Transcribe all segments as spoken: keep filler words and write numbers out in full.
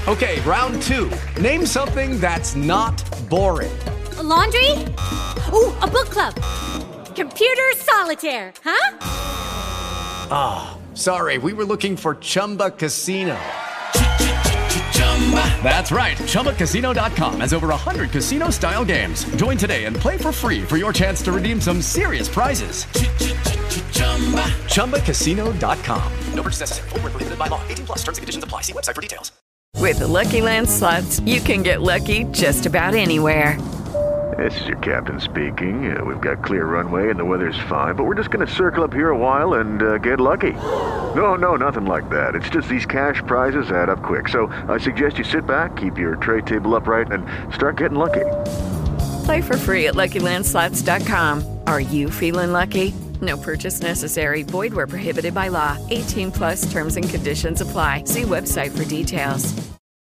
Okay, round two. Name something that's not boring. A laundry? Ooh, a book club. Computer solitaire, huh? Ah, oh, sorry, we were looking for Chumba Casino. That's right, Chumba Casino dot com has over one hundred casino-style games. Join today and play for free for your chance to redeem some serious prizes. Chumba Casino dot com. No purchase necessary. Void where prohibited by law. eighteen plus terms and conditions apply. See website for details. With the Lucky Land Slots, you can get lucky just about anywhere. This is your captain speaking. Uh, we've got clear runway and the weather's fine, but we're just going to circle up here a while and uh, get lucky. No, no, nothing like that. It's just these cash prizes add up quick. So I suggest you sit back, keep your tray table upright, and start getting lucky. Play for free at Lucky Land Slots dot com. Are you feeling lucky? No purchase necessary. Void where prohibited by law. eighteen plus terms and conditions apply. See website for details.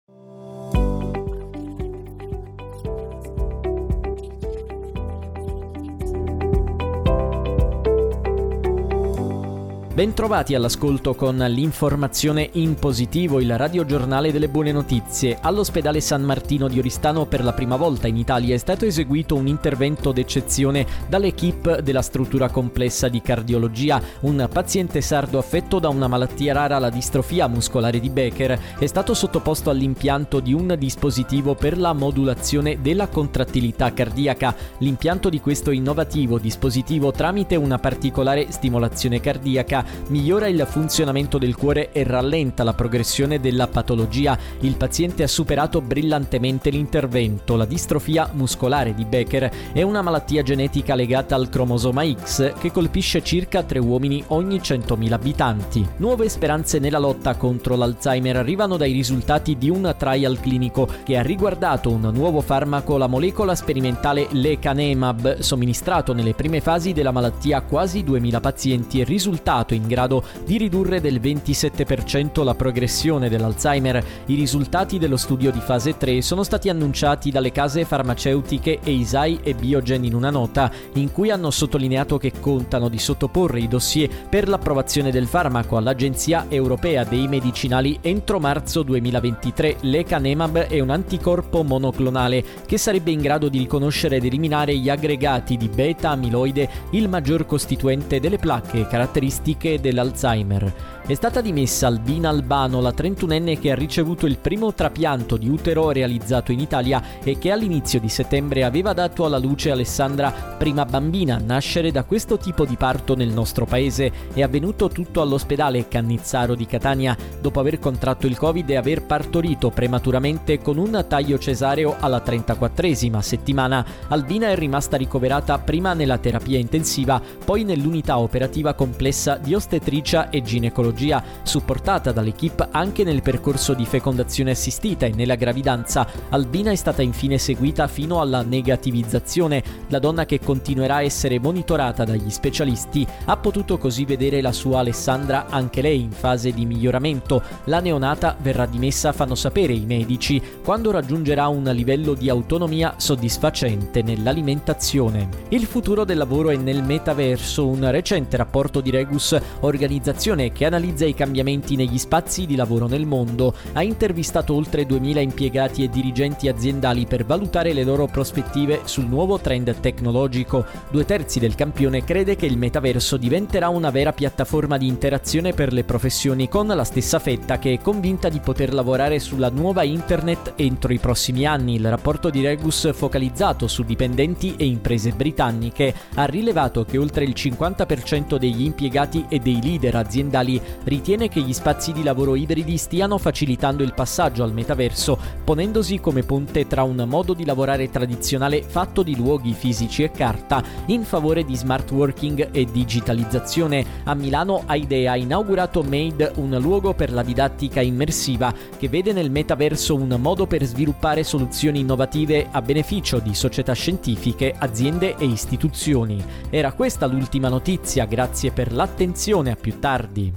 Bentrovati all'ascolto con l'informazione in positivo, il radiogiornale delle buone notizie. All'ospedale San Martino di Oristano per la prima volta in Italia è stato eseguito un intervento d'eccezione dall'equipe della struttura complessa di cardiologia. Un paziente sardo affetto da una malattia rara, la distrofia muscolare di Becker, è stato sottoposto all'impianto di un dispositivo per la modulazione della contrattilità cardiaca. L'impianto di questo innovativo dispositivo, tramite una particolare stimolazione cardiaca, migliora il funzionamento del cuore e rallenta la progressione della patologia. Il paziente ha superato brillantemente l'intervento. La distrofia muscolare di Becker è una malattia genetica legata al cromosoma X che colpisce circa tre uomini ogni centomila abitanti. Nuove speranze nella lotta contro l'Alzheimer arrivano dai risultati di un trial clinico che ha riguardato un nuovo farmaco, la molecola sperimentale lecanemab, somministrato nelle prime fasi della malattia a quasi duemila pazienti e risultato in grado di ridurre del ventisette per cento la progressione dell'Alzheimer. I risultati dello studio di fase tre sono stati annunciati dalle case farmaceutiche Eisai e Biogen in una nota in cui hanno sottolineato che contano di sottoporre i dossier per l'approvazione del farmaco all'Agenzia Europea dei Medicinali entro marzo duemilaventitré. Lecanemab è un anticorpo monoclonale che sarebbe in grado di riconoscere ed eliminare gli aggregati di beta-amiloide, il maggior costituente delle placche caratteristiche dell'Alzheimer. È stata dimessa Albina Albano, la trentunenne che ha ricevuto il primo trapianto di utero realizzato in Italia e che all'inizio di settembre aveva dato alla luce Alessandra, prima bambina a nascere da questo tipo di parto nel nostro paese. È avvenuto tutto all'ospedale Cannizzaro di Catania dopo aver contratto il Covid e aver partorito prematuramente con un taglio cesareo alla trentaquattresima settimana. Albina è rimasta ricoverata prima nella terapia intensiva, poi nell'unità operativa complessa di ostetricia e ginecologia, supportata dall'equipe anche nel percorso di fecondazione assistita e nella gravidanza. Albina è stata infine seguita fino alla negativizzazione. La donna, che continuerà a essere monitorata dagli specialisti, ha potuto così vedere la sua Alessandra anche lei in fase di miglioramento. La neonata verrà dimessa, fanno sapere i medici, quando raggiungerà un livello di autonomia soddisfacente nell'alimentazione. Il futuro del lavoro è nel metaverso. Un recente rapporto di Regus, organizzazione che analizza i cambiamenti negli spazi di lavoro nel mondo, ha intervistato oltre duemila impiegati e dirigenti aziendali per valutare le loro prospettive sul nuovo trend tecnologico. Due terzi del campione crede che il metaverso diventerà una vera piattaforma di interazione per le professioni, con la stessa fetta che è convinta di poter lavorare sulla nuova internet entro i prossimi anni. Il rapporto di Regus, focalizzato su dipendenti e imprese britanniche, ha rilevato che oltre il cinquanta per cento degli impiegati e dei leader aziendali ritiene che gli spazi di lavoro ibridi stiano facilitando il passaggio al metaverso, ponendosi come ponte tra un modo di lavorare tradizionale fatto di luoghi fisici e carta in favore di smart working e digitalizzazione. A Milano Aidea ha inaugurato Made, un luogo per la didattica immersiva che vede nel metaverso un modo per sviluppare soluzioni innovative a beneficio di società scientifiche, aziende e istituzioni. Era questa l'ultima notizia, grazie per l'attenzione, a più tardi.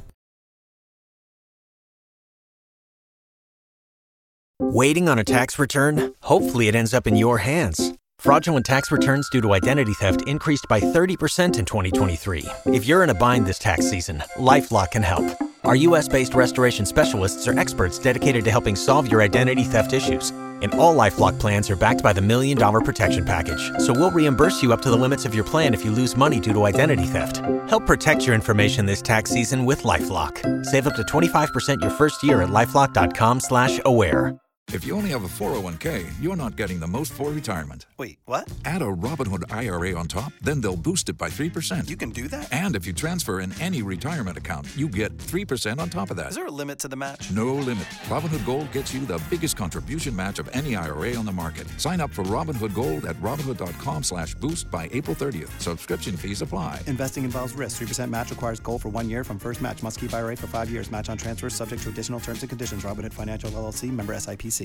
Waiting on a tax return? Hopefully it ends up in your hands. Fraudulent tax returns due to identity theft increased by thirty percent in twenty twenty-three. If you're in a bind this tax season, LifeLock can help. Our U S-based restoration specialists are experts dedicated to helping solve your identity theft issues. And all LifeLock plans are backed by the Million Dollar Protection Package. So we'll reimburse you up to the limits of your plan if you lose money due to identity theft. Help protect your information this tax season with LifeLock. Save up to twenty-five percent your first year at LifeLock.com slash aware. If you only have a four oh one k, you're not getting the most for retirement. Wait, what? Add a Robinhood I R A on top, then they'll boost it by three percent. You can do that? And if you transfer in any retirement account, you get three percent on top of that. Is there a limit to the match? No limit. Robinhood Gold gets you the biggest contribution match of any I R A on the market. Sign up for Robinhood Gold at Robinhood.com slash boost by April thirtieth. Subscription fees apply. Investing involves risk. three percent match requires gold for one year from first match. Must keep I R A for five years. Match on transfers subject to additional terms and conditions. Robinhood Financial L L C. Member S I P C.